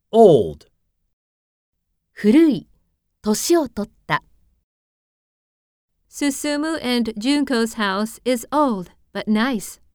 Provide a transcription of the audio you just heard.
old, 古い、年を取った。 Susumu and Junko's house is old but nice.